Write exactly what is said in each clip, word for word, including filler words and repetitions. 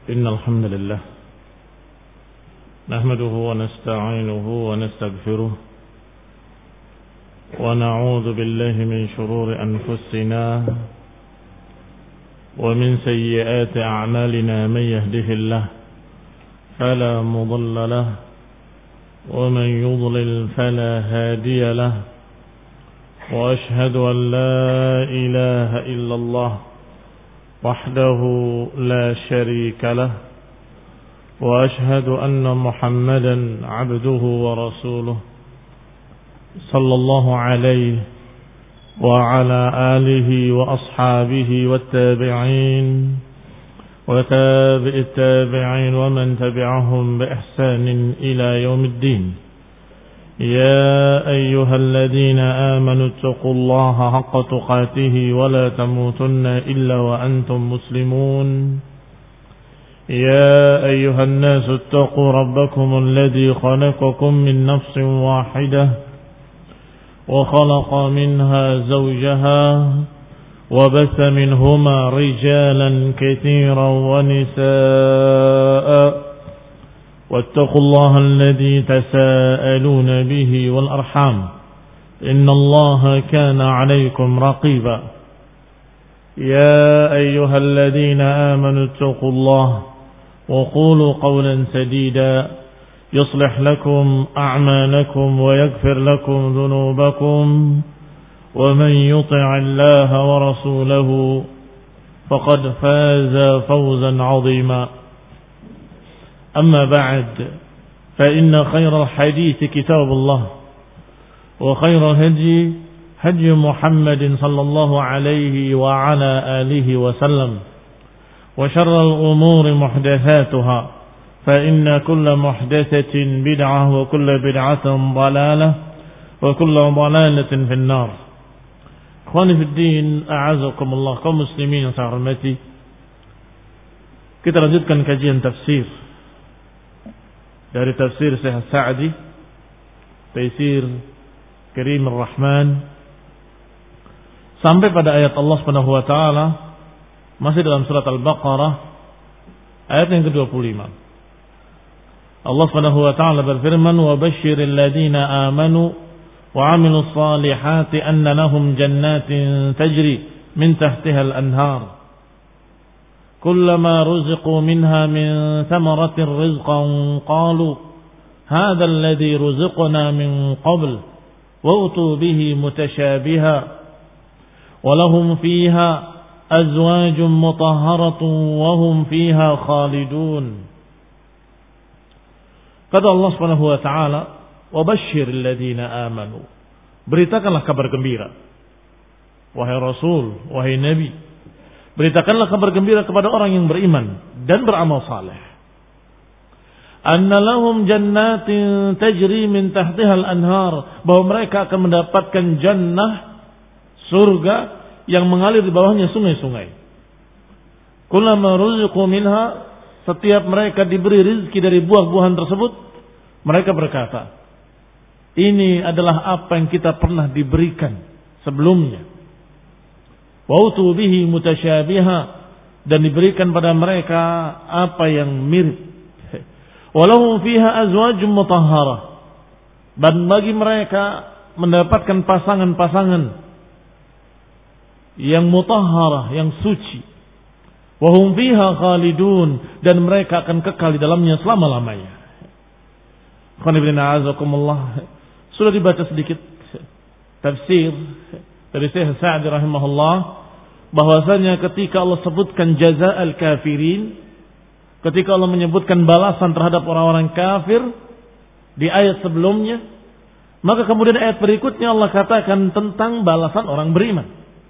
إن الحمد لله نحمده ونستعينه ونستغفره ونعوذ بالله من شرور أنفسنا ومن سيئات أعمالنا من يهده الله فلا مضل له ومن يضلل فلا هادي له وأشهد أن لا إله إلا الله وحده لا شريك له وأشهد أن محمدا عبده ورسوله صلى الله عليه وعلى آله وأصحابه والتابعين وتابع التابعين ومن تبعهم بإحسان إلى يوم الدين. يا أيها الذين آمنوا اتقوا الله حق تقاته ولا تموتن إلا وأنتم مسلمون. يا أيها الناس اتقوا ربكم الذي خلقكم من نفس واحدة وخلق منها زوجها وبث منهما رجالا كثيرا ونساء واتقوا الله الذي تساءلون به والأرحام إن الله كان عليكم رقيبا. يا أيها الذين آمنوا اتقوا الله وقولوا قولا سديدا يصلح لكم أعمالكم ويغفر لكم ذنوبكم ومن يطع الله ورسوله فقد فاز فوزا عظيما. أما بعد فإن خير الحديث كتاب الله وخير الهدي هدي محمد صلى الله عليه وعلى آله وسلم وشر الأمور محدثاتها فإن كل محدثة بدعة وكل بدعة ضلالة وكل ضلالة في النار. Ikhwani fi din, a'azakumullah, kaum muslimin yang saya hormati. Kita lanjutkan kajian tafsir dari tafsir Syekh Sa'di, Taisir Karim Ar-Rahman, sampai pada ayat Allah Subhanahu wa taala masih dalam surat Al-Baqarah ayat yang kedua puluh lima. Allah Subhanahu wa taala berfirman, "Wa basyiril ladzina amanu wa 'amilus salihati anna lahum jannatin tajri min tahtiha al-anhar. Kullama ruziqu minha min thamaratir rizqan qalu hadha alladhi ruziqna min qabl wa utu bihi mutashabiha wa lahum fiha azwajun mutahharatun wa hum fiha khalidun." Kata Allah Subhanahu wa taala, "Wa basyiril ladzina amanu." Beritakanlah kabar gembira, wahai Rasul, wahai Nabi. Beritakanlah kabar gembira kepada orang yang beriman dan beramal saleh. Anna lahum jannatin tajri min tahtiha al-anhar, bahwa mereka akan mendapatkan jannah, surga yang mengalir di bawahnya sungai-sungai. Kullama ruziqu minha, setiap mereka diberi rizki dari buah-buahan tersebut, mereka berkata, ini adalah apa yang kita pernah diberikan sebelumnya. Wa utu bihi mutasyabiha, dan diberikan pada mereka apa yang mirip. Walahum fiha azwajum mutahharah, dan bagi mereka mendapatkan pasangan-pasangan yang mutahharah, yang suci. Wa hum fiha khalidun, dan mereka akan kekal di dalamnya selama-lamanya. Sudah dibaca sedikit tafsir dari Syekh Sa'di rahimahullah, bahwasanya ketika Allah sebutkan jazaa'al kafirin, ketika Allah menyebutkan balasan terhadap orang-orang kafir di ayat sebelumnya, maka kemudian ayat berikutnya Allah katakan tentang balasan orang beriman.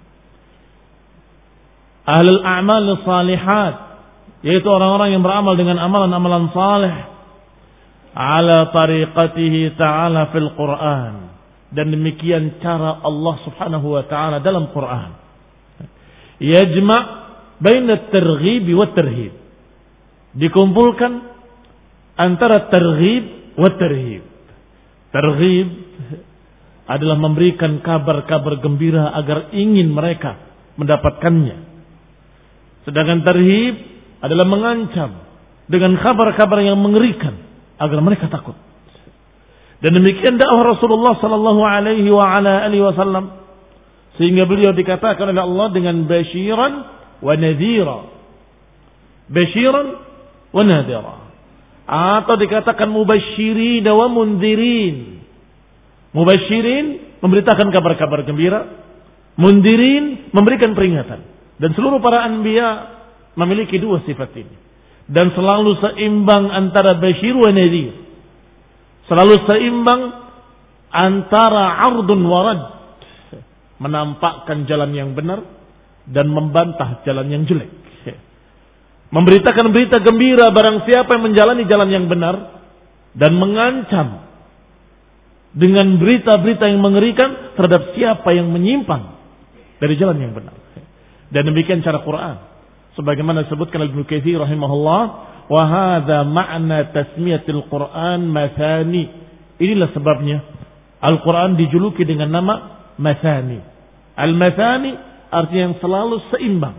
Ahlul a'mal salihat, yaitu orang-orang yang beramal dengan amalan-amalan saleh, ala tariqatihi ta'ala fil Qur'an, dan demikian cara Allah Subhanahu wa taala dalam Quran. Yajma' baina at-targhib wa at-tarhib, dikumpulkan antara targhib wa tarhib. Targhib adalah memberikan kabar-kabar gembira agar ingin mereka mendapatkannya. Sedangkan tarhib adalah mengancam dengan kabar-kabar yang mengerikan agar mereka takut. Dan demikian dakwah Rasulullah sallallahu alaihi wa ala alihi wasallam, sehingga beliau dikatakan oleh Allah dengan basyiran wa nadhira. Basyiran wa nadhira. Atau dikatakan mubasyirin wa mundhirin. Mubasyirin memberitakan kabar-kabar gembira, mundhirin memberikan peringatan. Dan seluruh para anbiya memiliki dua sifat ini. Dan selalu seimbang antara basyir wa nadhir. Selalu seimbang antara ardun wa rad. Menampakkan jalan yang benar dan membantah jalan yang jelek. Memberitakan berita gembira barang siapa yang menjalani jalan yang benar, dan mengancam dengan berita-berita yang mengerikan terhadap siapa yang menyimpang dari jalan yang benar. Dan demikian cara Quran. Sebagaimana disebutkan oleh Ibnu Katsir rahimahullah, wa hadza ma'na tasmiyatil Quran mathani. Inilah sebabnya Al-Quran dijuluki dengan nama mathani. Al-mathani artinya yang selalu seimbang.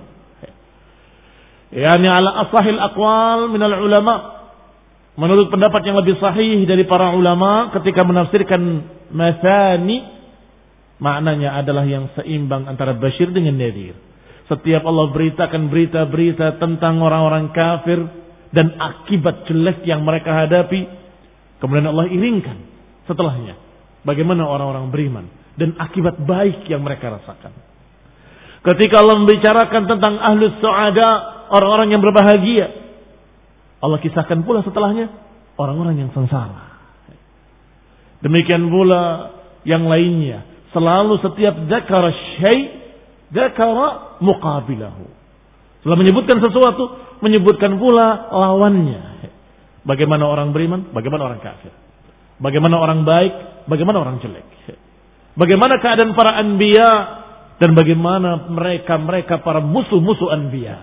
Yani ala asahil aqwal minal ulama. Menurut pendapat yang lebih sahih dari para ulama ketika menafsirkan mathani, maknanya adalah yang seimbang antara basyir dengan nadhir. Setiap Allah beritakan berita-berita tentang orang-orang kafir dan akibat jelek yang mereka hadapi, kemudian Allah iringkan setelahnya bagaimana orang-orang beriman dan akibat baik yang mereka rasakan. Ketika Allah membicarakan tentang ahlus su'ada, orang-orang yang berbahagia, Allah kisahkan pula setelahnya orang-orang yang sengsara. Demikian pula yang lainnya. Selalu setiap dzakara syai' dzakara muqabilahu. Setelah menyebutkan sesuatu, menyebutkan pula lawannya. Bagaimana orang beriman, bagaimana orang kafir. Bagaimana orang baik, bagaimana orang jelek. Bagaimana keadaan para anbiya dan bagaimana mereka-mereka para musuh-musuh anbiya.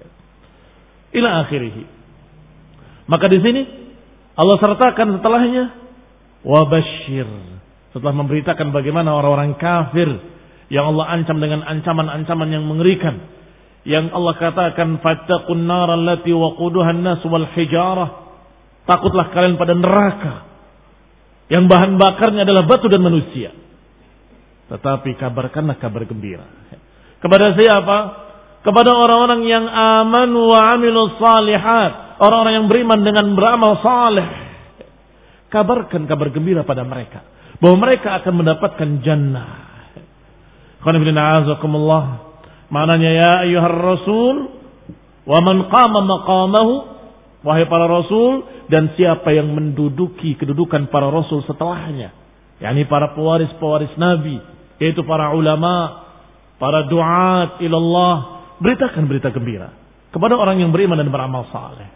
Ila akhirih. Maka di sini Allah sertakan setelahnya wabasyir. Setelah memberitakan bagaimana orang-orang kafir yang Allah ancam dengan ancaman-ancaman yang mengerikan, yang Allah katakan fattaqun nar allati waquduha an-nas wal hijarah. Takutlah kalian pada neraka yang bahan bakarnya adalah batu dan manusia. Tetapi kabarkanlah kabar gembira. Kepada siapa? Kepada orang-orang yang aman wa amilus salihat, orang-orang yang beriman dengan beramal saleh. Kabarkan kabar gembira pada mereka bahwa mereka akan mendapatkan jannah. Qul a'azakumullah. Maknanya ya ayyuhar rasul wa man qama maqamahu, wahai para rasul dan siapa yang menduduki kedudukan para rasul setelahnya, yakni para pewaris-pewaris nabi, yaitu para ulama, para duat ilallah, beritakan berita gembira kepada orang yang beriman dan beramal saleh.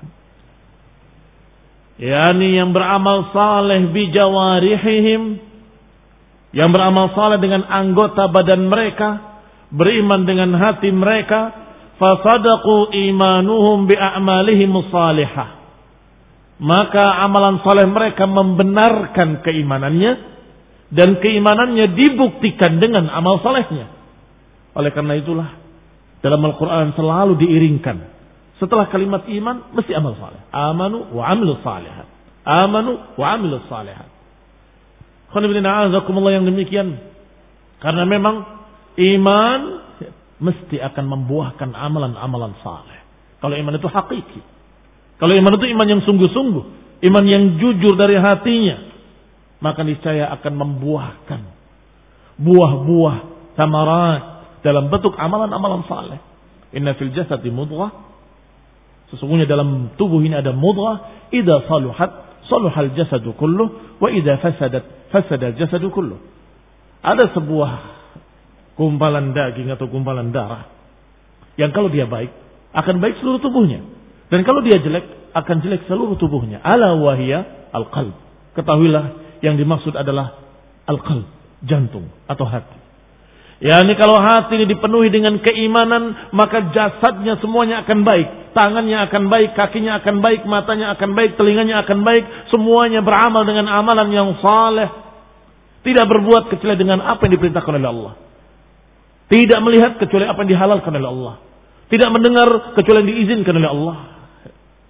Yani yang beramal saleh bi jawarihim, yang beramal saleh dengan anggota badan mereka, beriman dengan hati mereka, fasadaqu imanuhum bi a'malihim salihah. Maka amalan saleh mereka membenarkan keimanannya dan keimanannya dibuktikan dengan amal salehnya. Oleh karena itulah dalam Al-Quran selalu diiringkan setelah kalimat iman mesti amal saleh. Amanu wa amilus salihat. Amanu wa amilus salihat. Khonibina azakumullah yang demikian. Karena memang iman mesti akan membuahkan amalan-amalan saleh. Kalau iman itu hakiki. Kalau iman itu iman yang sungguh-sungguh, iman yang jujur dari hatinya, maka niscaya akan membuahkan buah-buah samarat dalam bentuk amalan-amalan saleh. Inna fil jasadi mudghah, sesungguhnya dalam tubuh ini ada mudghah, idza saluhat saluhal jasadu kulluh wa idza fasadat fasada jasadu kulluh. Ada sebuah gumpalan daging atau gumpalan darah yang kalau dia baik akan baik seluruh tubuhnya. Dan kalau dia jelek, akan jelek seluruh tubuhnya. Ala wahiyya al-qalb. Ketahuilah yang dimaksud adalah al-qalb, jantung atau hati. Ya, ini kalau hati ini dipenuhi dengan keimanan, maka jasadnya semuanya akan baik. Tangannya akan baik, kakinya akan baik, matanya akan baik, telinganya akan baik. Semuanya beramal dengan amalan yang saleh. Tidak berbuat kecuali dengan apa yang diperintahkan oleh Allah. Tidak melihat kecuali apa yang dihalalkan oleh Allah. Tidak mendengar kecuali yang diizinkan oleh Allah.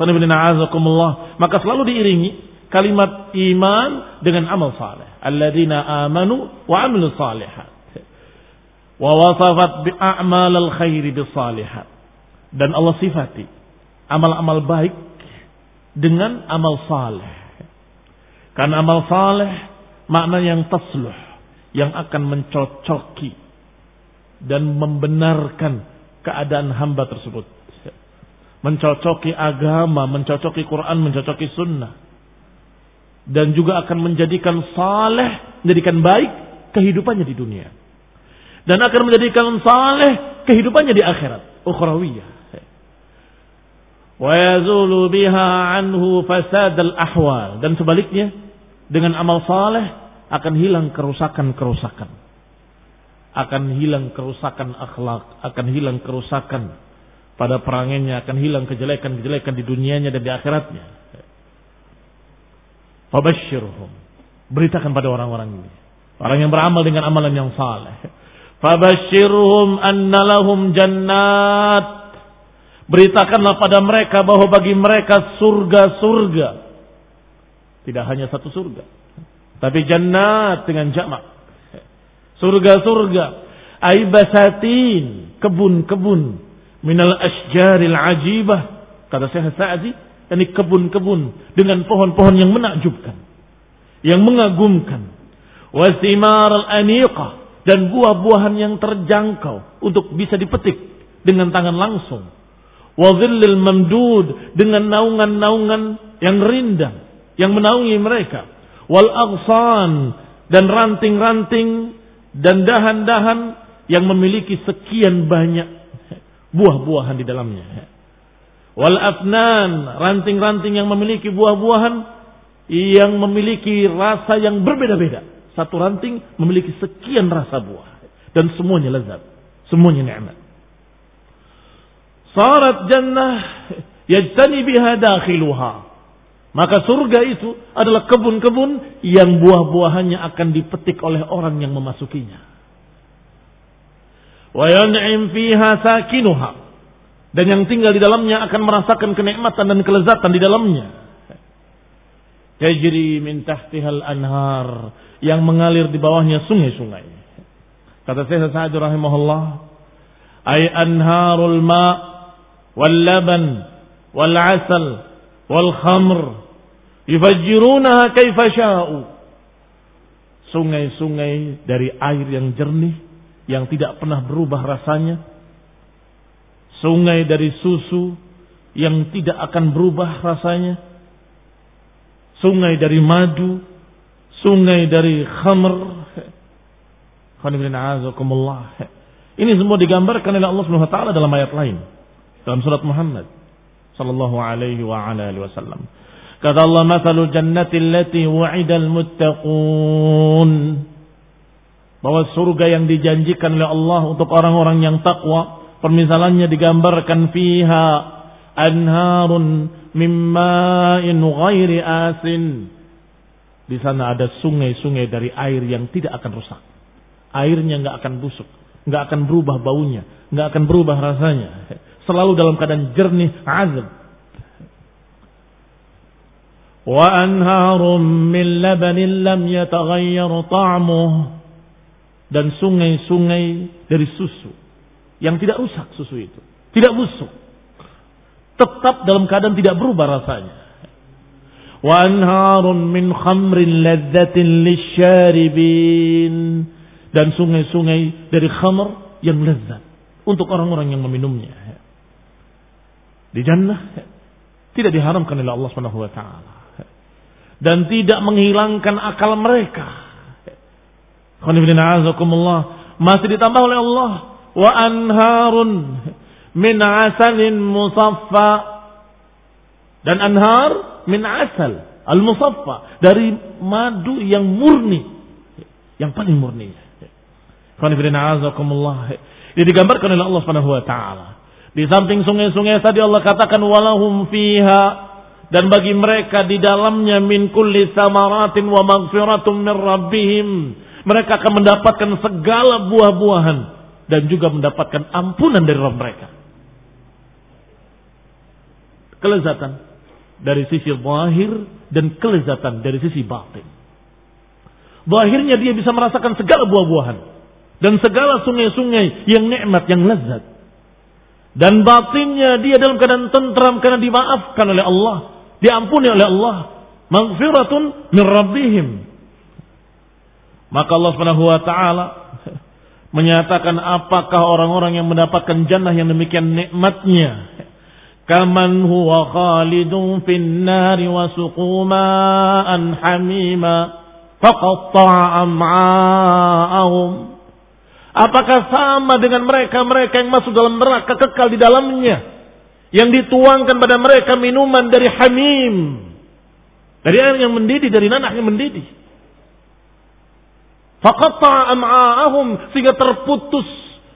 Maka selalu diiringi kalimat iman dengan amal saleh. Alladzina amanu wa amilus salihat. Wa wasafat bi a'malil khairi bis salihat. Dan Allah sifati amal-amal baik dengan amal saleh. Karena amal saleh makna yang tasluh, yang akan mencocoki dan membenarkan keadaan hamba tersebut. Mencocoki agama, mencocoki Quran, mencocoki sunnah. Dan juga akan menjadikan saleh, menjadikan baik kehidupannya di dunia. Dan akan menjadikan saleh kehidupannya di akhirat, ukhrawiyah. Wa yazulu biha anhu fasad al-ahwal. Dan sebaliknya, dengan amal saleh akan hilang kerusakan-kerusakan. Akan hilang kerusakan akhlak, akan hilang kerusakan pada perangannya, akan hilang kejelekan-kejelekan di dunianya dan di akhiratnya. Fabashshirhum. Beritakan pada orang-orang ini, orang yang beramal dengan amalan yang saleh. Fabashshirhum anna lahum jannat. Beritakanlah pada mereka bahwa bagi mereka surga-surga. Tidak hanya satu surga, tapi jannat dengan jamak. Surga-surga, aibasatin, kebun-kebun, minal asjaril ajibah, kata Syekh Sa'di, ini kebun-kebun dengan pohon-pohon yang menakjubkan, yang mengagumkan, wasimar al-aniqah, dan buah-buahan yang terjangkau untuk bisa dipetik dengan tangan langsung, wadhillil mamdud, dengan naungan-naungan yang rindang yang menaungi mereka, wal aghsan, dan ranting-ranting dan dahan-dahan yang memiliki sekian banyak buah-buahan di dalamnya. Wal afnan, ranting-ranting yang memiliki buah-buahan yang memiliki rasa yang berbeda-beda. Satu ranting memiliki sekian rasa buah dan semuanya lezat, semuanya nikmat. Sarat jannah yajtani biha dakhiluha. Maka surga itu adalah kebun-kebun yang buah-buahannya akan dipetik oleh orang yang memasukinya. Wa yan'im fiha sakinuha. Dan yang tinggal di dalamnya akan merasakan kenikmatan dan kelezatan di dalamnya. Tajri min tahtihal anhar, yang mengalir di bawahnya sungai-sungai. Kata Syekh Sa'di rahimahullah, ay anharul ma' wal laban wal 'asal wal khamr yufajjirunaha kaifa sya'u. Sungai-sungai dari air yang jernih yang tidak pernah berubah rasanya. Sungai dari susu yang tidak akan berubah rasanya. Sungai dari madu, sungai dari khamr. Ini semua digambarkan oleh Allah Subhanahu wa taala dalam ayat lain. Dalam surat Muhammad sallallahu alaihi wa ala alihi wasallam. Kata Allah, "Matsalul jannati allati wu'idal muttaqun." Bahwa surga yang dijanjikan oleh Allah untuk orang-orang yang takwa, permisalannya digambarkan fiha anharun mimma'in ghairi asin. Di sana ada sungai-sungai dari air yang tidak akan rusak. Airnya enggak akan busuk, enggak akan berubah baunya, enggak akan berubah rasanya. Selalu dalam keadaan jernih, azab. Wa anharum min labanin lam yataghayyar ta'muh. Dan sungai-sungai dari susu yang tidak rusak, susu itu tidak busuk, tetap dalam keadaan tidak berubah rasanya. Wa anharun min khamrin ladzatin lisyaribin. Dan sungai-sungai dari khamr yang lezat untuk orang-orang yang meminumnya. Di jannah tidak diharamkan oleh Allah Subhanahu wa taala dan tidak menghilangkan akal mereka. Masih ditambah oleh Allah, wa anharun min asalin musaffa, dan anhar min asal al musaffa, dari madu yang murni, yang paling murni. Ini digambarkan oleh Allah Subhanahu wa taala. Di samping sungai-sungai tadi Allah katakan walahum fiha, dan bagi mereka di dalamnya min kulli samaratin wa maghfiratum min rabbihim. Mereka akan mendapatkan segala buah-buahan dan juga mendapatkan ampunan dari Rabb mereka. Kelezatan dari sisi zahir dan kelezatan dari sisi batin. Zahirnya dia bisa merasakan segala buah-buahan dan segala sungai-sungai yang nikmat, yang lezat. Dan batinnya dia dalam keadaan tentram karena dimaafkan oleh Allah, diampuni oleh Allah, maghfiratun min rabbihim. Maka Allah Subhanahu wa taala menyatakan apakah orang-orang yang mendapatkan jannah yang demikian nikmatnya, kaman huwa khalidun fin nari wa suquma'an hamima faqatta'a am'a'ahum. Apakah sama dengan mereka-mereka yang masuk dalam neraka kekal di dalamnya, yang dituangkan pada mereka minuman dari hamim, dari air yang mendidih, dari nanah yang mendidih. Faqatta'a am'a'ahum, sehingga terputus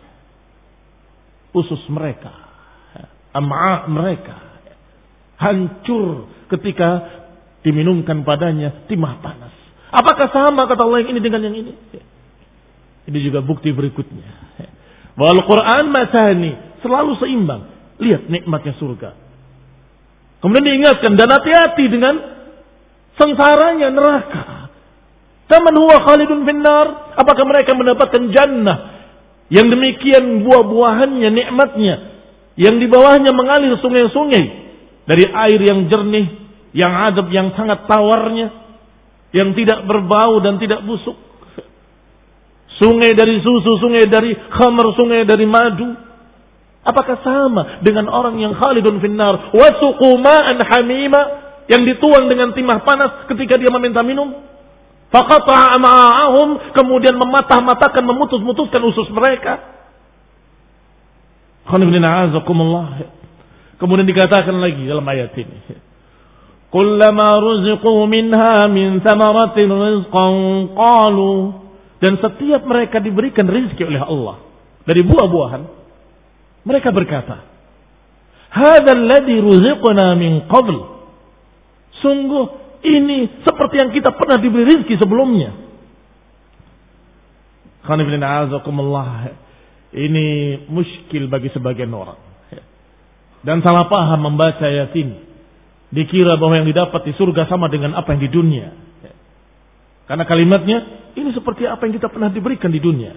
usus mereka, am'a mereka hancur ketika diminumkan padanya timah panas. Apakah sama kata Allah yang ini dengan yang ini? Ini juga bukti berikutnya. Bahwa Al-Quran masani selalu seimbang. Lihat nikmatnya surga. Kemudian diingatkan dan hati-hati dengan sengsaranya neraka. Kaman huwa khalidun finnar. Apakah mereka mendapatkan jannah yang demikian buah-buahannya, nikmatnya, yang di bawahnya mengalir sungai-sungai dari air yang jernih, yang adab, yang sangat tawarnya, yang tidak berbau dan tidak busuk. Sungai dari susu, sungai dari khamr, sungai dari madu. Apakah sama dengan orang yang khalidun finnar wa suquma'an hamima, yang dituang dengan timah panas ketika dia meminta minum? Faqata'a am'a'ahum, kemudian mematah-matahkan, memutus-mutuskan usus mereka. Kemudian dikatakan lagi dalam ayat ini, kullama ruziqu minha min thamaratin rizqan qalu, dan setiap mereka diberikan rezeki oleh Allah dari buah-buahan, mereka berkata, hadzal ladzi ruziqna min qabl, sungguh ini seperti yang kita pernah diberi rezeki sebelumnya. Ini muskil bagi sebagian orang dan salah paham membaca ayat ini, dikira bahwa yang didapat di surga sama dengan apa yang di dunia. Karena kalimatnya ini seperti apa yang kita pernah diberikan di dunia.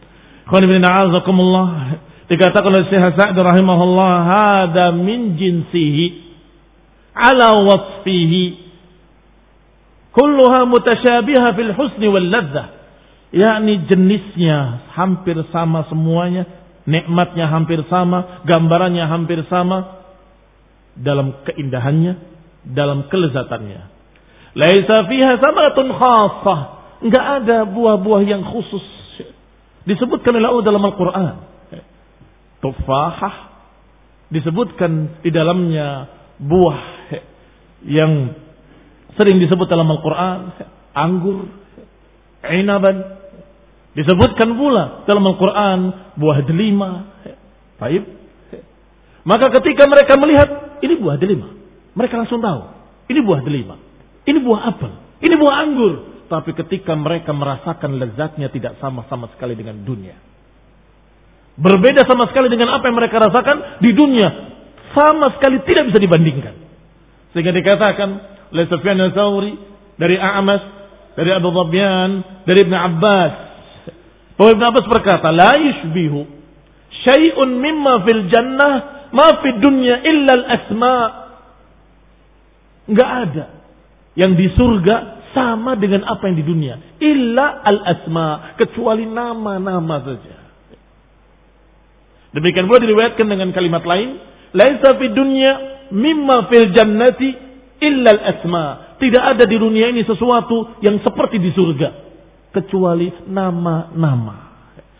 Dikatakan oleh Syekh Sa'd rahimahullah, hada min jinsihi ala wasfihi kulluha mutasyabiha fil husni wal ladzah. Yakni jenisnya hampir sama semuanya, nikmatnya hampir sama, gambarannya hampir sama dalam keindahannya, dalam kelezatannya. Laisa fiha samatun khassah, enggak ada buah-buah yang khusus disebutkan oleh Allah dalam Al-Qur'an. Tufahah disebutkan di dalamnya buah yang sering disebut dalam Al-Qur'an, anggur, inaban, disebutkan pula dalam Al-Quran buah delima. Baik. Maka ketika mereka melihat ini buah delima, mereka langsung tahu ini buah delima, ini buah apel, ini buah anggur. Tapi ketika mereka merasakan lezatnya tidak sama-sama sekali dengan dunia. Berbeda sama sekali dengan apa yang mereka rasakan di dunia. Sama sekali tidak bisa dibandingkan. Sehingga dikatakan oleh Sufyan al-Thawri, dari A'mas, dari Abu Dhabyan, dari Ibn Abbas, bahwa Ibn Abbas berkata, la yushbihu syai'un mimma fil jannah ma fid dunya illa al-asma'. Enggak ada yang di surga sama dengan apa yang di dunia, illa al-asma', kecuali nama-nama saja. Demikian pula diriwayatkan dengan kalimat lain, laisa fid dunya mimma fil jannati illa al-asma'. Tidak ada di dunia ini sesuatu yang seperti di surga kecuali nama-nama.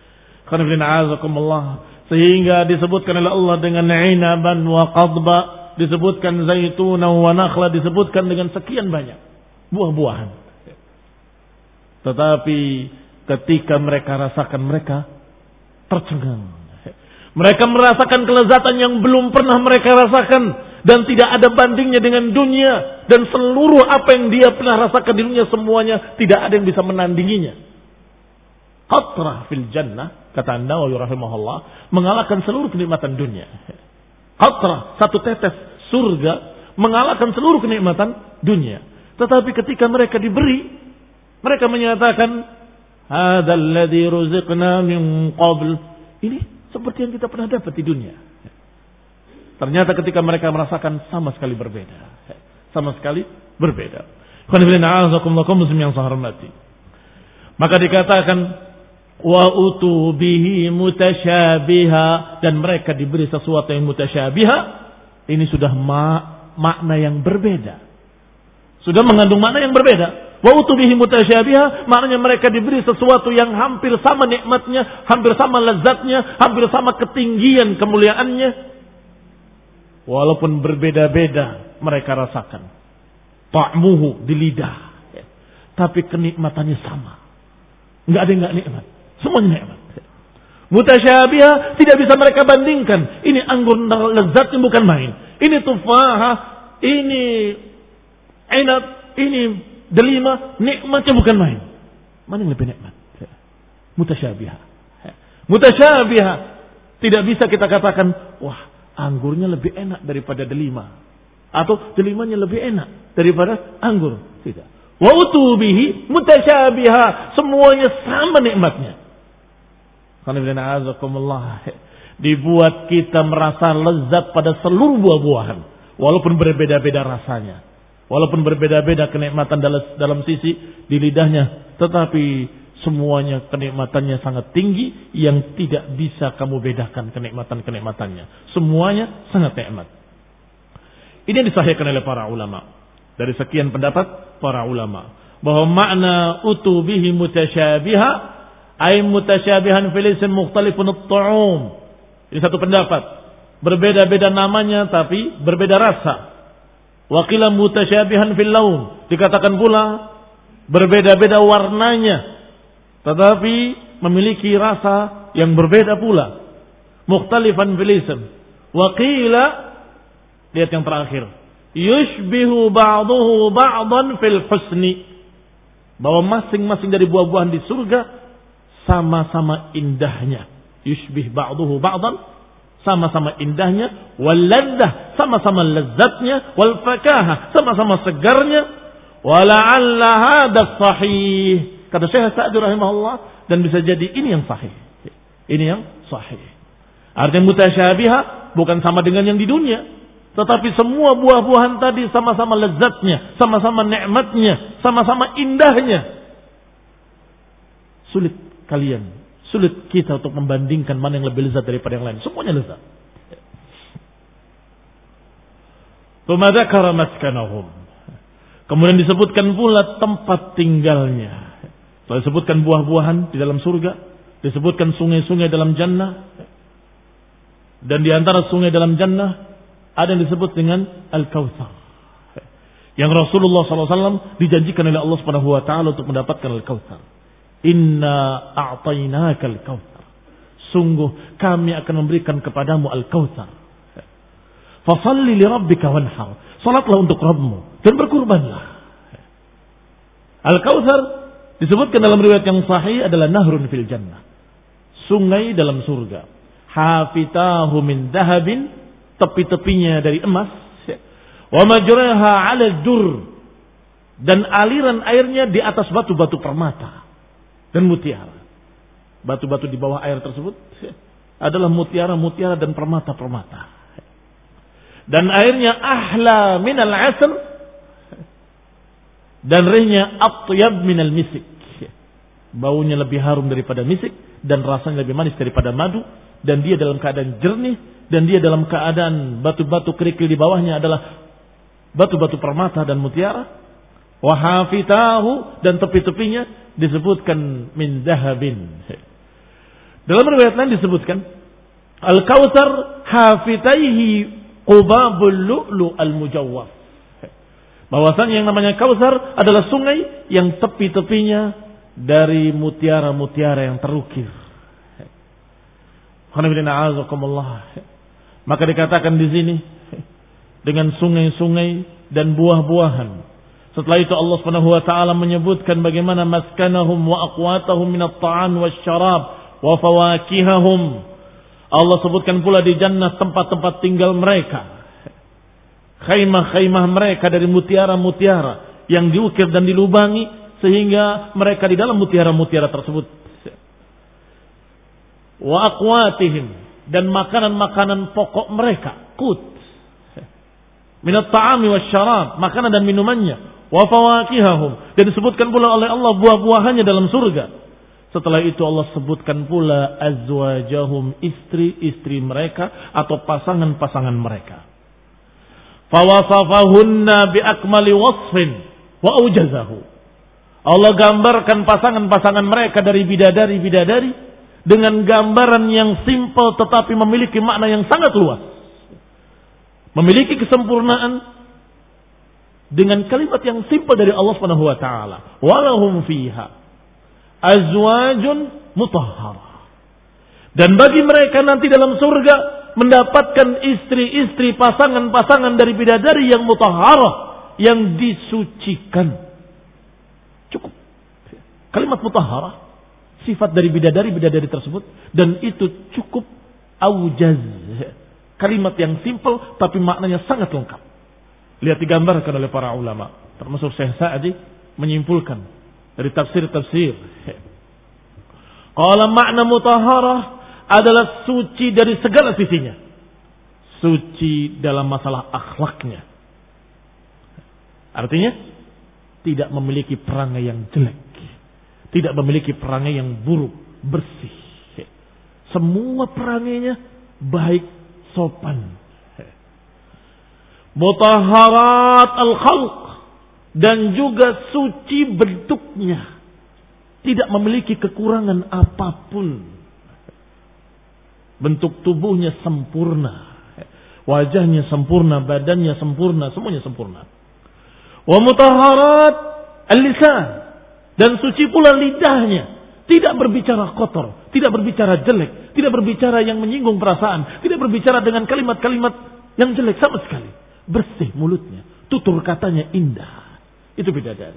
Sehingga disebutkan oleh Allah dengan inaban wa qadba, disebutkan zaituna wa nakhla, disebutkan dengan sekian banyak buah-buahan. Tetapi ketika mereka rasakan, mereka tercengang. Mereka merasakan kelezatan yang belum pernah mereka rasakan dan tidak ada bandingnya dengan dunia, dan seluruh apa yang dia pernah rasakan di dunia semuanya tidak ada yang bisa menandinginya. Qatrah fil jannah, kata An-Nawawi rahimahullah, mengalahkan seluruh kenikmatan dunia. Qatrah, satu tetes surga, mengalahkan seluruh kenikmatan dunia. Tetapi ketika mereka diberi, mereka menyatakan, hadzal ladzi ruziqna min qabl. Ini seperti yang kita pernah dapat di dunia. Ternyata ketika mereka merasakan sama sekali berbeda. Sama sekali berbeda. Maka dikatakan wa utu bihi mutasyabiha, dan mereka diberi sesuatu yang mutasyabiha. Ini sudah ma- makna yang berbeda. Sudah mengandung makna yang berbeda. Wa utu bihi mutasyabiha, maknanya mereka diberi sesuatu yang hampir sama nikmatnya, hampir sama lezatnya, hampir sama ketinggian kemuliaannya. Walaupun berbeda-beda mereka rasakan. Ta'muhu di lidah. Tapi kenikmatannya sama. Enggak ada yang enggak nikmat. Semuanya nikmat. Mutasyabiha tidak bisa mereka bandingkan. Ini anggur lezatnya bukan main. Ini tufaha, ini inab, ini delima, nikmatnya bukan main. Mana yang lebih nikmat? Mutasyabiha. Mutasyabiha. Tidak bisa kita katakan, wah, anggurnya lebih enak daripada delima. Atau delimanya lebih enak daripada anggur. Tidak. Wa utubihi mutasyabiha. Semuanya sama nikmatnya. Dibuat kita merasa lezat pada seluruh buah-buahan. Walaupun berbeda-beda rasanya. Walaupun berbeda-beda kenikmatan dalam, dalam sisi di lidahnya. Tetapi semuanya kenikmatannya sangat tinggi yang tidak bisa kamu bedakan kenikmatan-kenikmatannya. Semuanya sangat nikmat. Ini yang disahihkan oleh para ulama. Dari sekian pendapat para ulama. Bahwa makna utubihi mutasyabiha. Ay mutasyabihan fil ism mukhtalifun at-ta'um. Ini satu pendapat. Berbeda-beda namanya tapi berbeda rasa. Wa qila mutasyabihan fil laun. Dikatakan pula berbeda-beda warnanya. Tetapi memiliki rasa yang berbeda pula. Mukhtalifan fil ism. Wa qila, lihat yang terakhir, yushbihu ba'duhu ba'dan fil husni. Bahwa masing-masing dari buah-buahan di surga sama-sama indahnya. Yushbih ba'duhu ba'dan, sama-sama indahnya. Wal laddah, sama-sama lezatnya. Wal fakahah, sama-sama segarnya. Wala'alla hadha sahih. Kata Syekh Sa'di rahimahullah, dan bisa jadi ini yang sahih. Ini yang sahih. Artinya mutasyabiha bukan sama dengan yang di dunia, tetapi semua buah-buahan tadi sama-sama lezatnya, sama-sama nikmatnya, sama-sama indahnya. Sulit kalian, sulit kita untuk membandingkan mana yang lebih lezat daripada yang lain. Semuanya lezat. Tsumma dzakara maskanahum. Kemudian disebutkan pula tempat tinggalnya. Setelah disebutkan buah-buahan di dalam surga, disebutkan sungai-sungai dalam jannah, dan di antara sungai dalam jannah ada yang disebut dengan Al-Kautsar, yang Rasulullah shallallahu alaihi wasallam dijanjikan oleh Allah Subhanahu Wa Taala untuk mendapatkan Al-Kautsar. Inna a'tainaka Al-Kautsar. Sungguh kami akan memberikan kepadamu Al-Kautsar. Fasalli li rabbika wanhar. Salatlah untuk Rabbmu dan berkurbanlah. Al-Kautsar disebutkan dalam riwayat yang sahih adalah nahrun fil jannah. Sungai dalam surga. Hafitahu min dahabin, tepi-tepinya dari emas. Wa majraha 'ala dur, dan aliran airnya di atas batu-batu permata dan mutiara. Batu-batu di bawah air tersebut adalah mutiara-mutiara dan permata-permata. Dan airnya ahla minal 'asr, dan rihnya atyab minal misik. Baunya lebih harum daripada misik, dan rasanya lebih manis daripada madu, dan dia dalam keadaan jernih, dan dia dalam keadaan batu-batu kerikil di bawahnya adalah batu-batu permata dan mutiara. Wa hafitahu, dan tepi-tepinya disebutkan min dahabin. Dalam riwayat lain disebutkan Al-Kautsar hafitaihi qubabul lu'lu al-mujawwaf. Bahwasanya yang namanya Kautsar adalah sungai yang tepi-tepinya dari mutiara-mutiara yang terukir. Maka dikatakan di sini dengan sungai-sungai dan buah-buahan. Setelah itu Allah Subhanahu wa taala menyebutkan bagaimana maskanahum wa aqwatahum minat ta'am wasyarab wa fawakihahum. Allah sebutkan pula di jannah tempat-tempat tinggal mereka khaimah-khaimah mereka dari mutiara-mutiara yang diukir dan dilubangi sehingga mereka di dalam mutiara-mutiara tersebut. Wa aqwatihim, dan makanan-makanan pokok mereka, qut. Minat ta'ami wasyarab, makanan dan minumannya. Wa fawakihahum, dan disebutkan pula oleh Allah buah-buahannya dalam surga. Setelah itu Allah sebutkan pula azwajahum, istri-istri mereka atau pasangan-pasangan mereka. Fawasafahunna biakmali wasfin wa aujazahu. Allah gambarkan pasangan-pasangan mereka dari bidadari-bidadari dengan gambaran yang simpel tetapi memiliki makna yang sangat luas. Memiliki kesempurnaan dengan kalimat yang simpel dari Allah Subhanahu wa taala. Walahum fiha azwajun mutahharah. Dan bagi mereka nanti dalam surga mendapatkan istri-istri, pasangan-pasangan dari bidadari yang mutahharah, yang disucikan. Cukup. Kalimat mutahharah, sifat dari bidadari-bidadari tersebut, dan itu cukup aujaz. Kalimat yang simpel tapi maknanya sangat lengkap. Lihat digambarkan oleh para ulama, termasuk Syekh Sa'di menyimpulkan dari tafsir-tafsir. Qala makna mutahharah adalah suci dari segala sisinya. Suci dalam masalah akhlaknya. Artinya tidak memiliki perangai yang jelek, tidak memiliki perangai yang buruk, bersih. Semua perangainya baik, sopan. Mutahharat al-khalq, dan juga suci bentuknya, tidak memiliki kekurangan apapun. Bentuk tubuhnya sempurna, wajahnya sempurna, badannya sempurna, semuanya sempurna. Wa mutahharat al-lisan, dan suci pula lidahnya, tidak berbicara kotor, tidak berbicara jelek, tidak berbicara yang menyinggung perasaan, tidak berbicara dengan kalimat-kalimat yang jelek sama sekali. Bersih mulutnya, tutur katanya indah. Itu bidadari.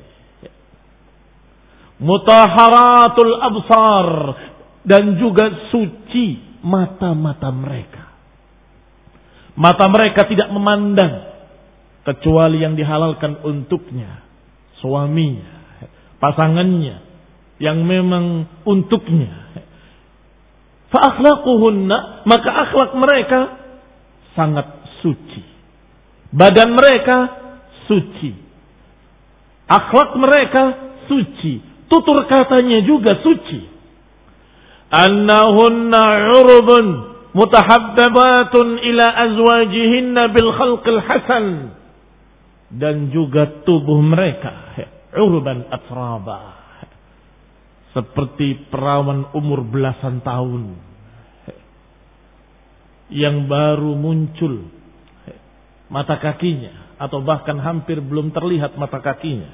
Mutahharatul absar, dan juga suci mata-mata mereka. Mata mereka tidak memandang kecuali yang dihalalkan untuknya, suaminya, pasangannya, yang memang untuknya. Fa akhlaquhunna, maka akhlak mereka sangat suci. Badan mereka suci. Akhlak mereka suci. Tutur katanya juga suci. Annahunna urubun mutahabbabatun ila azwajihinna bil khalqil hasan. Dan juga tubuh mereka uruban atraba, seperti perawan umur belasan tahun yang baru muncul mata kakinya, atau bahkan hampir belum terlihat mata kakinya.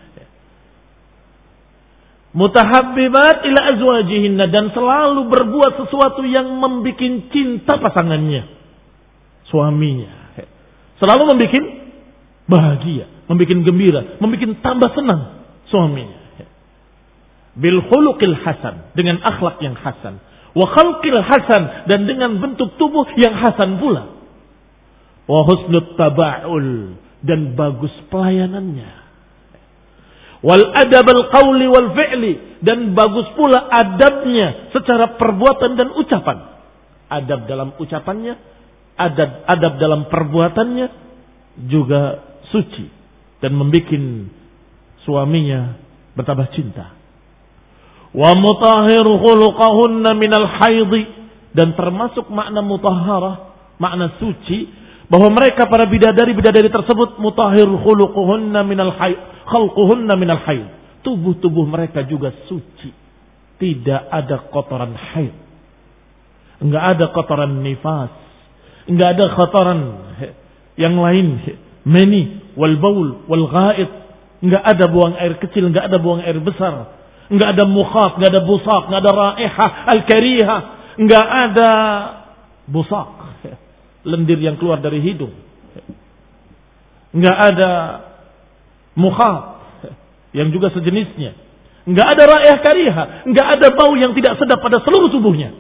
Mutahabbibat ila azwajihinna, dan selalu berbuat sesuatu yang membuat cinta pasangannya, suaminya. Selalu membuat bahagia, membuat gembira, membuat tambah senang suaminya. Bil khuluqil hasan, dengan akhlak yang hasan. Wa khalqil hasan, dan dengan bentuk tubuh yang hasan pula. Wa husnut taba'ul, dan bagus pelayanannya. Wal adab al qawli wal fi'li, dan bagus pula adabnya secara perbuatan dan ucapan. Adab dalam ucapannya, adab adab dalam perbuatannya juga suci, dan membuat suaminya bertambah cinta. Wa mutahhir khuluqahunna minal haidhi, dan termasuk makna mutahharah, makna suci, bahwa mereka para bidadari-bidadari tersebut mutahhir khuluquhunna minal haid, khalquhunna minal haid. Tubuh-tubuh mereka juga suci. Tidak ada kotoran haid. Enggak ada kotoran nifas. Enggak ada kotoran yang lain, mani wal baul wal ghaid. Enggak ada buang air kecil, enggak ada buang air besar. Enggak ada mukhat, enggak ada busak, enggak ada raihah al-karihah, enggak ada busak, lendir yang keluar dari hidung. Enggak ada mukhat yang juga sejenisnya. Enggak ada raihah karihah, enggak ada bau yang tidak sedap pada seluruh tubuhnya.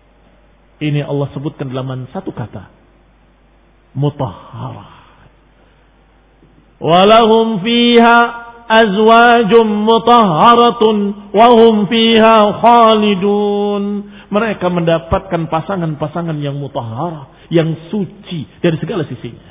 Ini Allah sebutkan dalam satu kata, mutahharah. Walahum fiha azwajum mutahharatun wa hum fiha khalidun. Mereka mendapatkan pasangan-pasangan yang mutahharah, yang suci dari segala sisinya.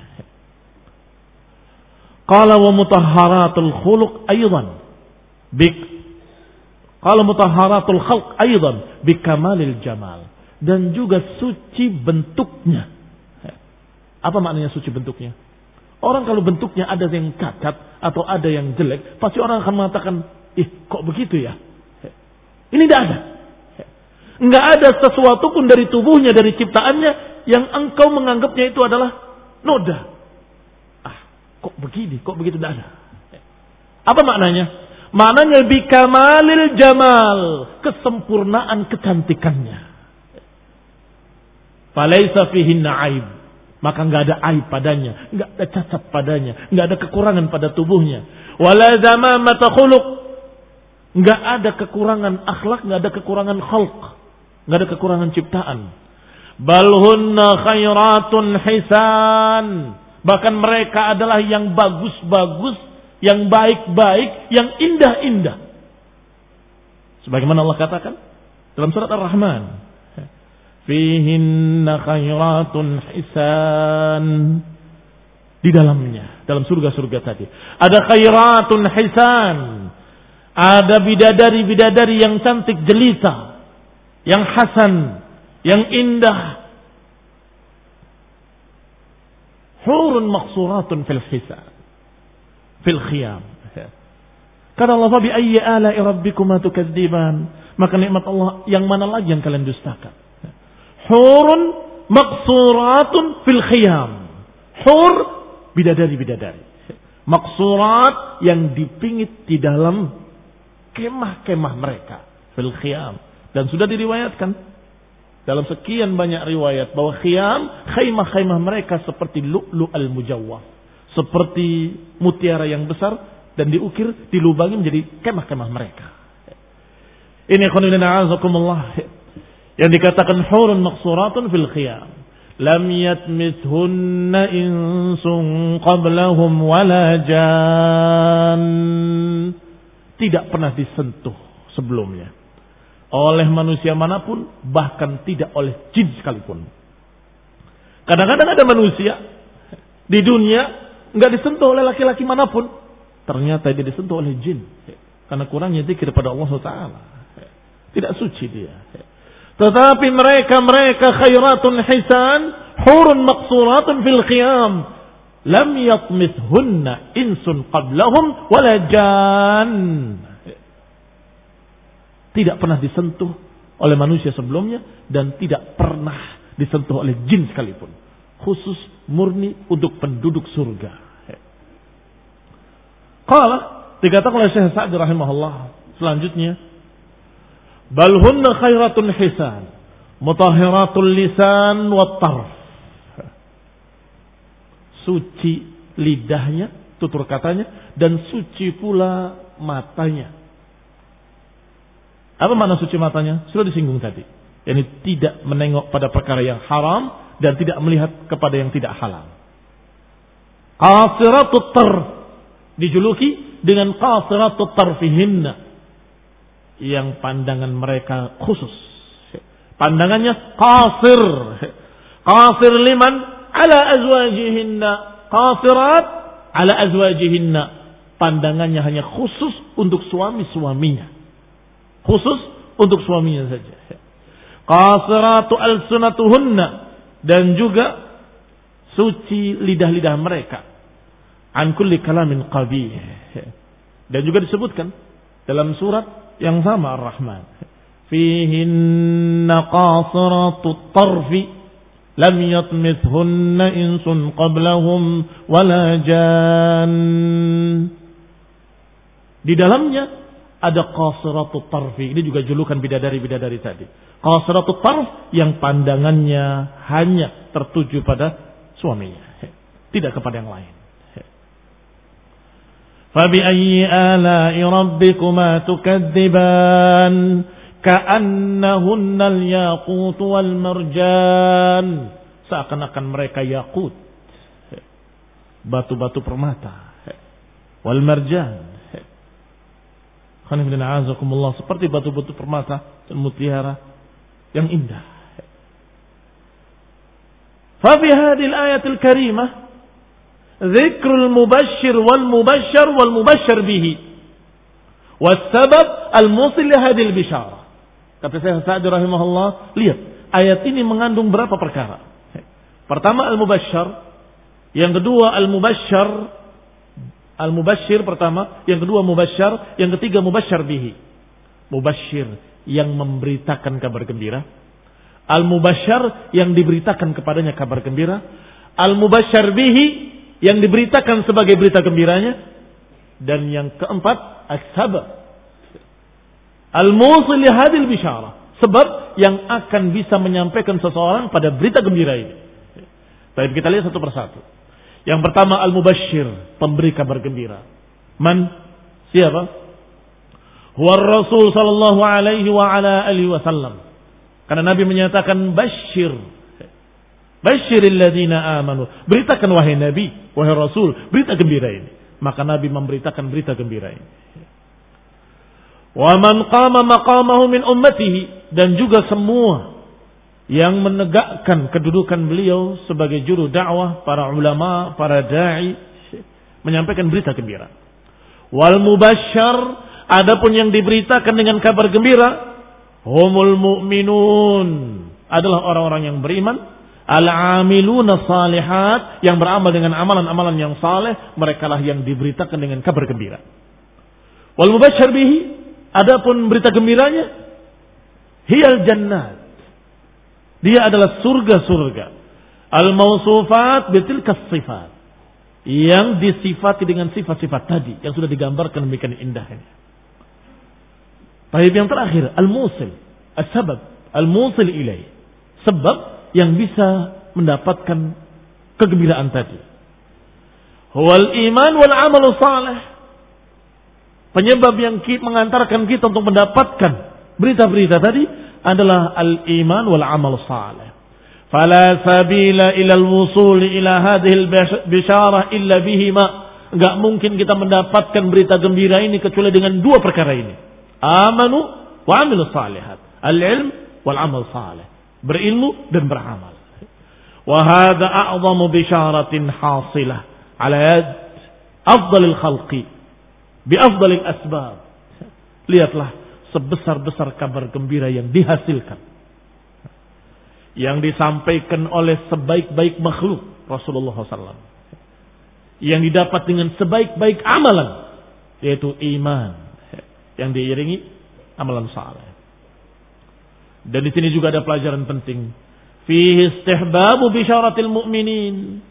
Qala wa mutahharatul khuluq aidan bik qala mutahharatul khalq aidan bikamalil jamal, dan juga suci bentuknya. Apa maknanya suci bentuknya? Orang kalau bentuknya ada yang cacat atau ada yang jelek, pasti orang akan mengatakan, ih kok begitu ya? Ini tidak ada. Enggak ada sesuatu pun dari tubuhnya, dari ciptaannya yang engkau menganggapnya itu adalah noda. Ah, kok begini, kok begitu, tidak ada. Apa maknanya? Maknanya bikamalil jamal, kesempurnaan kecantikannya. Falaisa fihinna aib, maka enggak ada aib padanya, enggak ada cacat padanya, enggak ada kekurangan pada tubuhnya. Wala zamamata khuluq, enggak ada kekurangan akhlak, enggak ada kekurangan khalq, enggak ada kekurangan ciptaan. Bal hunna khairatun hisan, bahkan mereka adalah yang bagus-bagus, yang baik-baik, yang indah-indah. Sebagaimana Allah katakan dalam surat Ar-Rahman, fihinna khairatun hisan. Di dalamnya, dalam surga-surga tadi, ada khairatun hisan, ada bidadari-bidadari yang cantik jelita, yang hasan, yang indah. Hurun maqsuratun fil hisan, fil khiyam. Kata Allah, fa bi ayyi ala'i rabbikuma tukadziban, maka nikmat Allah yang mana lagi yang kalian dustakan? Hurun maqsuratun fil khiyam. Hur, bidadari-bidadari. Maqsurat, yang dipingit di dalam kemah-kemah mereka. Fil khiyam. Dan sudah diriwayatkan dalam sekian banyak riwayat bahwa khiyam, khaimah-khaimah mereka seperti lu'lu' al-mujawwaf, seperti mutiara yang besar dan diukir, dilubangi menjadi kemah-kemah mereka. Ini khonilina azakumullah, yang dikatakan hurun maqsuratun fil khiyam, lam yatmithunna insun qablahum wala jan, tidak pernah disentuh sebelumnya oleh manusia manapun, bahkan tidak oleh jin sekalipun. Kadang-kadang ada manusia di dunia enggak disentuh oleh laki-laki manapun, ternyata dia disentuh oleh jin karena kurangnya zikir pada Allah subhanahu wa taala. Tidak suci dia. Tetapi mereka-mereka khairatun hisan, hurun maqsuratun fil khiyam, lam yatmithunna insun qablahum wala jan. Tidak pernah disentuh oleh manusia sebelumnya dan tidak pernah disentuh oleh jin sekalipun. Khusus murni untuk penduduk surga. Qala, dikatakan oleh Syekh Sa'di rahimahullah selanjutnya, bal hunna khairatun hisan, mutahhiratul lisan wat tarf. Suci lidahnya, tutur katanya, dan suci pula matanya. Apa makna suci matanya? Sudah disinggung tadi. Yani tidak menengok pada perkara yang haram dan tidak melihat kepada yang tidak halal. Qasiratut tarf, dijuluki dengan qasiratut tarfihinna, yang pandangan mereka khusus. Pandangannya qasir. Qasir liman ala azwajihinna. Qasirat ala azwajihinna. Pandangannya hanya khusus untuk suami-suaminya. Khusus untuk suaminya saja. Qasiratu alsunatuhunna, dan juga suci lidah-lidah mereka an kulli kalamin qabih. Dan juga disebutkan dalam surat yang sama Ar-Rahman, fihinna qasiratut tarfi lam yatmithunna insun qablahum wala jan. Di dalamnya ada qasiratut tarfi. Ini juga julukan bidadari-bidadari tadi. Qasiratut tarf, yang pandangannya hanya tertuju pada suaminya, tidak kepada yang lain. Fabi ayyi ala'i rabbikuma tukadziban ka'annahunna al-yaqut wal marjan. Seakan-akan mereka yakut, batu-batu permata, wal marjan. Seperti batu-batu permata dan mutiara yang indah. Fa fi hadhihi al-ayatil karimah dzikrul mubashshir wal mubashshar wal mubashshar bihi was sabab al-musil li hadhihi al-bisyarah. Kata Syekh Sa'di rahimahullah, lihat, ayat ini mengandung berapa perkara. Pertama al-mubashshar, yang kedua al-mubashshar, al-mubashshir pertama, yang kedua mubashshar, yang ketiga mubashshar bihi. Mubashshir yang memberitakan kabar gembira, al-mubashshar yang diberitakan kepadanya kabar gembira, al-mubashshar bihi yang diberitakan sebagai berita gembiranya, dan yang keempat as-sabab al-musil li hadhil bisyarah, sebab yang akan bisa menyampaikan seseorang pada berita gembira ini. Baik, kita lihat satu persatu. Yang pertama al-mubashshir, pemberi kabar gembira. Man? Siapa? Huwa Rasul sallallahu alaihi wa ala alihi wasallam. Karena Nabi menyatakan basyir. Basyiril ladzina amanu. Beritakan wahai Nabi, wahai Rasul, berita gembira ini. Maka Nabi memberitakan berita gembira ini. Wa man qama maqamahu min ummatihi, dan juga semua yang menegakkan kedudukan beliau sebagai juru dakwah, para ulama, para da'i, menyampaikan berita gembira. Wal mubashshar, adapun yang diberitakan dengan kabar gembira, humul mu'minun, adalah orang-orang yang beriman, al-amiluna salihat, yang beramal dengan amalan-amalan yang saleh, merekalah yang diberitakan dengan kabar gembira. Wal mubashshar bihi, adapun berita gembiranya, hiyal jannat, dia adalah surga-surga. Al-mausufat bitilkas sifat, yang disifati dengan sifat-sifat tadi yang sudah digambarkan demikian indahnya. Baik, yang terakhir al-musil, as-sabab al-musil ilaih, sebab yang bisa mendapatkan kegembiraan tadi. Huwal iman wal amal salih, penyebab yang mengantarkan kita untuk mendapatkan berita-berita tadi adalah al-iman wal amal salih. Fala sabila ila al-wusul ila hadhihi al-bisyarah illa bihima. Enggak mungkin kita mendapatkan berita gembira ini kecuali dengan dua perkara ini. Amanu wa amilu salihat. Al-ilm wal amal salih. Berilmu dan beramal. Wa hadha a'zamu bisyaratin hasilah ala yad afdalil khalqi bi afdalil asbab. Lihatlah sebesar-besar kabar gembira yang dihasilkan, yang disampaikan oleh sebaik-baik makhluk Rasulullah shallallahu alaihi wasallam, yang didapat dengan sebaik-baik amalan, yaitu iman yang diiringi amalan saleh. Dan di sini juga ada pelajaran penting, fihi istihbabu bisyaratil mu'minin,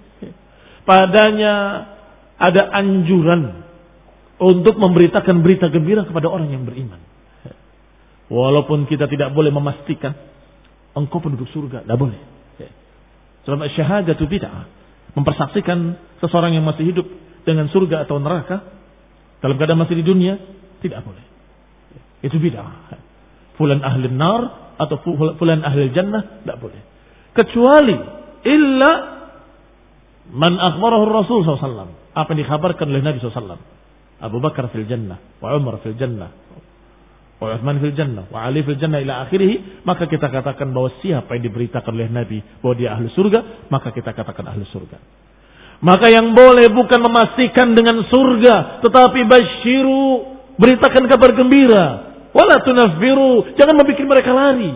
padanya ada anjuran untuk memberitakan berita gembira kepada orang yang beriman. Walaupun kita tidak boleh memastikan engkau penduduk surga, tidak boleh. Sebab syahadatu bid'ah, mempersaksikan seseorang yang masih hidup dengan surga atau neraka dalam keadaan masih di dunia, tidak boleh. Itu bid'ah. Fulan ahli nar atau fulan ahli jannah, tidak boleh. Kecuali illa man akhbarahu Rasul sallallahu alaihi wasallam, apa yang dikhabarkan oleh Nabi sallallahu alaihi wasallam. Abu Bakar fil jannah, wa Umar fil jannah, wa Uthman fil jannah, wa Ali fil jannah ila akhirih, maka kita katakan bahwa siapa yang diberitakan oleh Nabi bahwa dia ahli surga, maka kita katakan ahli surga. Maka yang boleh bukan memastikan dengan surga, tetapi basyiru, beritakan kabar gembira, wala tunaffiru, jangan membuat mereka lari.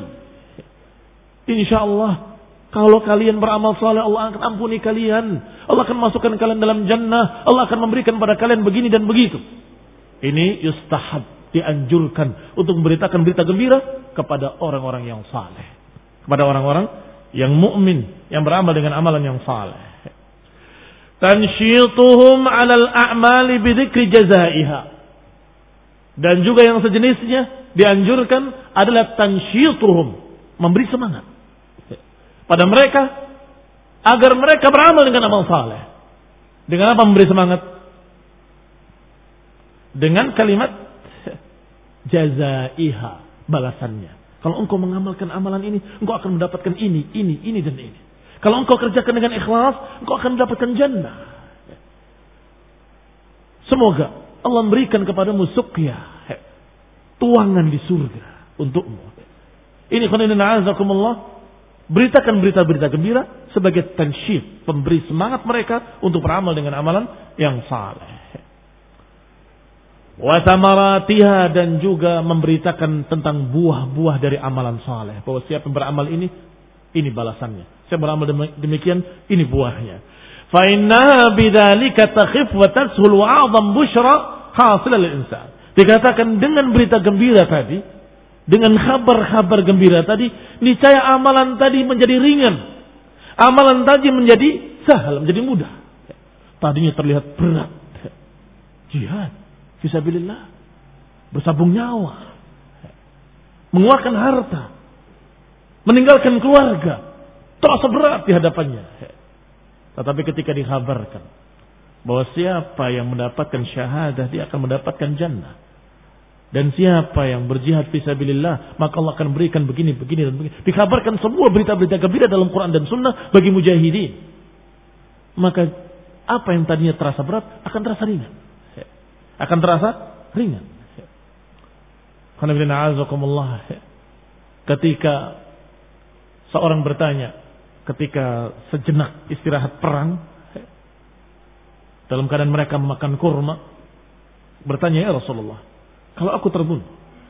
Insyaallah kalau kalian beramal saleh, Allah akan ampuni kalian, Allah akan masukkan kalian dalam jannah, Allah akan memberikan pada kalian begini dan begitu. Ini yustahab, dianjurkan untuk memberitakan berita gembira kepada orang-orang yang saleh, kepada orang-orang yang mukmin, yang beramal dengan amalan yang saleh. Tansyituhum 'alal a'mali bidzikri jazaiha. Dan juga yang sejenisnya dianjurkan adalah tansyituhum, memberi semangat pada mereka agar mereka beramal dengan amal saleh. Dengan apa memberi semangat? Dengan kalimat jazaiha, balasannya. Kalau engkau mengamalkan amalan ini, engkau akan mendapatkan ini, ini, ini dan ini. Kalau engkau kerjakan dengan ikhlas, engkau akan mendapatkan jannah. Semoga Allah memberikan kepadamu suqya, tuangan di surga untukmu. Ini khonidina azakumullah. Beritakan berita-berita gembira sebagai tansyid, pemberi semangat mereka untuk beramal dengan amalan yang saleh. Wa thamaratiha, dan juga memberitakan tentang buah-buah dari amalan saleh. Bahwa siapa yang beramal ini, ini balasannya. Siapa beramal demikian, ini buahnya. Fa inna bidzalika takhif wa tashul wa 'azam busyra hasil lil insan. Dikatakan dengan berita gembira tadi, dengan kabar-kabar gembira tadi, niscaya amalan tadi menjadi ringan. Amalan tadi menjadi sahal, menjadi mudah. Tadinya terlihat berat. Jihad fisabilillah, bersabung nyawa, mengeluarkan harta, meninggalkan keluarga, terasa berat di hadapannya. Tetapi ketika dikhabarkan bahwa siapa yang mendapatkan syahadah, dia akan mendapatkan jannah. Dan siapa yang berjihad fisabilillah, maka Allah akan berikan begini, begini, dan begini. Dikabarkan semua berita-berita gembira dalam Quran dan Sunnah bagi mujahidin. Maka apa yang tadinya terasa berat akan terasa ringan. Akan terasa ringan. Ketika seorang bertanya, ketika sejenak istirahat perang, dalam keadaan mereka memakan kurma, bertanya, ya Rasulullah, kalau aku terbunuh,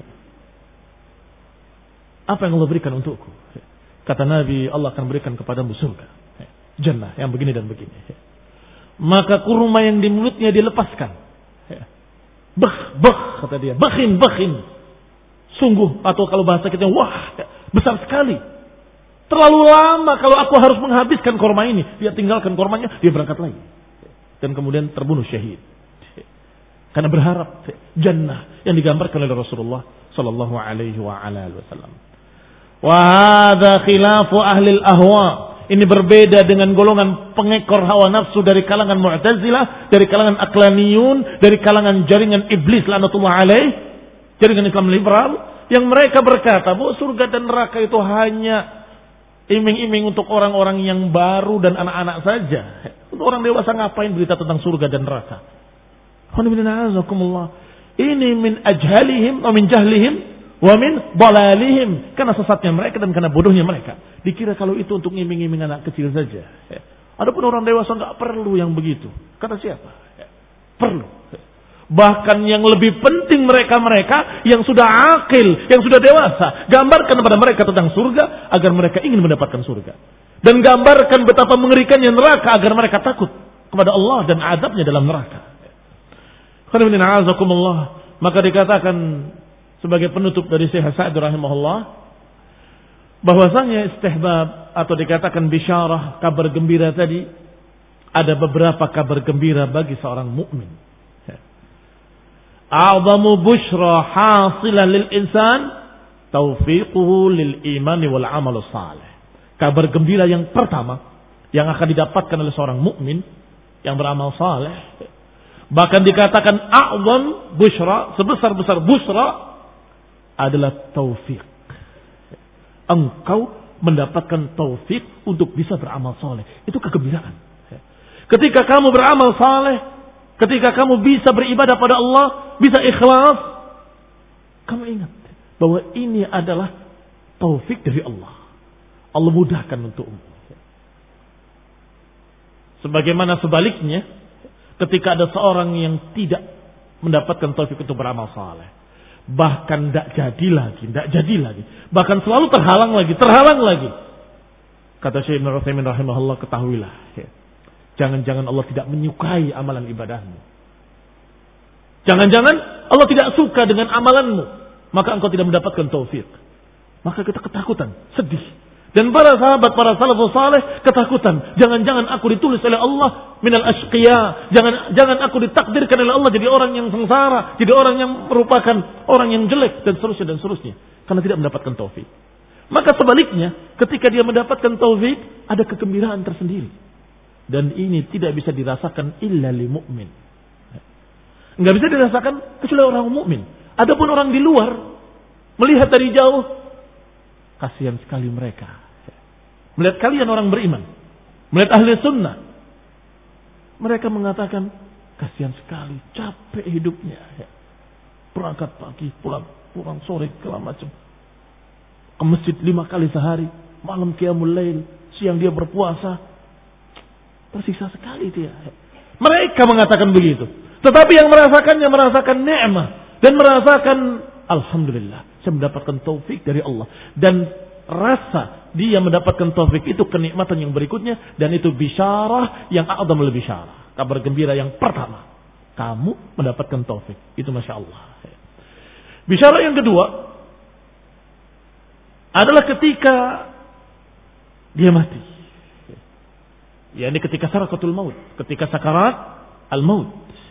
apa yang Allah berikan untukku? Kata Nabi, Allah akan berikan kepadamu surga, jannah yang begini dan begini. Maka kurma yang di mulutnya dilepaskan. Bah, bah, kata dia, bakhin, bakhin. Sungguh, atau kalau bahasa kita, wah, besar sekali. Terlalu lama kalau aku harus menghabiskan kurma ini. Dia tinggalkan kurmanya, dia berangkat lagi. Dan kemudian terbunuh syahid. Karena berharap jannah yang digambarkan oleh Rasulullah sallallahu alaihi wa ala alihi wasallam. Wa hadza khilafu ahli al-ahwa. Ini berbeda dengan golongan pengekor hawa nafsu dari kalangan Mu'tazilah, dari kalangan Aqlaniyun, dari kalangan jaringan iblis laknatullah alaih, jaringan Islam liberal, yang mereka berkata bahwa surga dan neraka itu hanya iming-iming untuk orang-orang yang baru dan anak-anak saja. Untuk orang dewasa ngapain berita tentang surga dan neraka? Ini min ajhalihim wa min jahlihim wa min dalalihim, karena sesatnya mereka dan karena bodohnya mereka. Dikira kalau itu untuk ngiming-ngiming anak kecil saja. Adapun orang dewasa enggak perlu yang begitu. Kata siapa? Perlu. Bahkan yang lebih penting mereka-mereka yang sudah akil, yang sudah dewasa, gambarkan kepada mereka tentang surga agar mereka ingin mendapatkan surga. Dan gambarkan betapa mengerikannya neraka agar mereka takut kepada Allah dan azabnya dalam neraka. Maka dikatakan sebagai penutup dari Syekh Sa'd rahimahullah bahwasanya istihbab atau dikatakan bisyarah, kabar gembira tadi, ada beberapa kabar gembira bagi seorang mukmin. A'zamu busyra hasilan lil insan taufiquhu lil imani wal amal salih. Kabar gembira yang pertama yang akan didapatkan oleh seorang mukmin yang beramal saleh, bahkan dikatakan a'zam busyra, sebesar-besar busra adalah taufik. Engkau mendapatkan taufik untuk bisa beramal saleh. Itu kegembiraan. Ketika kamu beramal saleh, ketika kamu bisa beribadah pada Allah, bisa ikhlas, kamu ingat bahwa ini adalah taufik dari Allah. Allah mudahkan untukmu. Sebagaimana sebaliknya, ketika ada seorang yang tidak mendapatkan taufik untuk beramal saleh, bahkan tidak jadi lagi, tidak jadi lagi, bahkan selalu terhalang lagi, terhalang lagi. Kata Syekh Ibnu Utsaimin rahimahullah, ketahuilah, ya, jangan-jangan Allah tidak menyukai amalan ibadahmu. Jangan-jangan Allah tidak suka dengan amalanmu, maka engkau tidak mendapatkan taufik. Maka kita ketakutan, sedih. Dan para sahabat, para salafus saleh ketakutan. Jangan-jangan aku ditulis oleh Allah minal ashqiya. Jangan jangan aku ditakdirkan oleh Allah jadi orang yang sengsara, jadi orang yang merupakan orang yang jelek dan seterusnya dan seterusnya. Karena tidak mendapatkan taufik. Maka sebaliknya, ketika dia mendapatkan taufik, ada kegembiraan tersendiri. Dan ini tidak bisa dirasakan illa li mu'min. Enggak bisa dirasakan kecuali orang mukmin. Adapun orang di luar melihat dari jauh, kasihan sekali mereka. Melihat kalian orang beriman, melihat ahli sunnah, mereka mengatakan Kasihan sekali, capek hidupnya. Berangkat pagi, pulang, pulang sore, segala macam. Ke masjid lima kali sehari, malam qiyamul lail, siang dia berpuasa. Tersiksa sekali dia. Mereka mengatakan begitu. Tetapi yang merasakannya merasakan nikmat dan merasakan alhamdulillah, saya mendapatkan taufik dari Allah. Dan rasa dia mendapatkan taufik itu kenikmatan yang berikutnya, dan itu bisyarah yang a'zamul bisyarah. Kabar gembira yang pertama, kamu mendapatkan taufik. Itu Masya Allah. Bisyarah yang kedua adalah ketika dia mati. Ya, ini ketika sarakatul maut, ketika sakarat al-maut.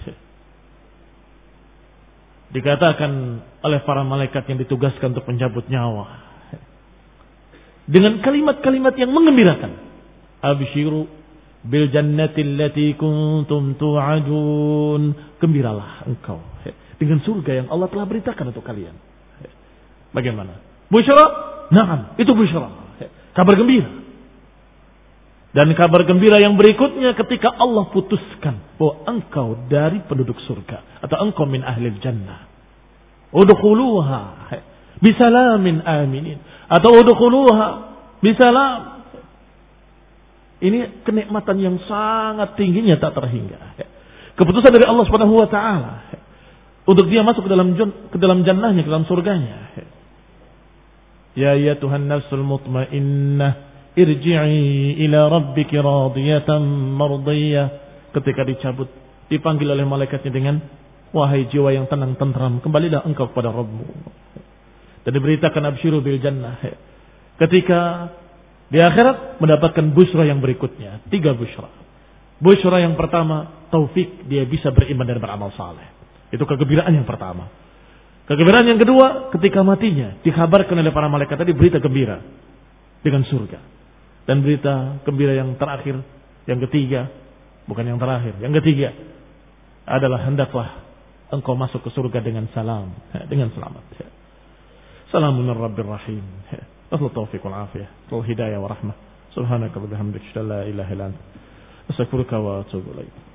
Dikatakan oleh para malaikat yang ditugaskan untuk mencabut nyawa dengan kalimat-kalimat yang menggembirakan. Abshiru bil jannati allati kuntum tu'adun. Gembiralah engkau dengan surga yang Allah telah beritakan untuk kalian. Bagaimana? Busyra? Naam, itu busyra. Kabar gembira. Dan kabar gembira yang berikutnya ketika Allah putuskan bahwa engkau dari penduduk surga atau engkau min ahlil jannah. Udkhuluha bisalamin aminin atau udkhuluha bisalam. Ini kenikmatan yang sangat tingginya tak terhingga. Keputusan dari Allah Subhanahu wa taala untuk dia masuk ke dalam ke dalam jannahnya, ke dalam surganya. Ya ya Tuhan nafsul mutmainnah irji'i ila rabbiki radiyatan mardiyah. Ketika dicabut, dipanggil oleh malaikatnya dengan wahai jiwa yang tenang tentram, kembalilah engkau kepada Rabbmu. Dan diberitakan absyiru bil jannah. Ketika di akhirat mendapatkan busra yang berikutnya, tiga busra. Busra yang pertama, taufik, dia bisa beriman dan beramal saleh. Itu kegembiraan yang pertama. Kegembiraan yang kedua, ketika matinya dikabarkan oleh para malaikat tadi berita gembira dengan surga. Dan berita gembira yang terakhir, yang ketiga, bukan yang terakhir, yang ketiga adalah hendaklah engkau masuk ke surga dengan salam, dengan selamat. Salamun rabbir rahim. Wassalamu taufiq wal afiyah, wal hidayah wa rahmah. Subhanaka wa bihamdika, la ilaha illa anta, astaghfiruka wa atubu ilaik.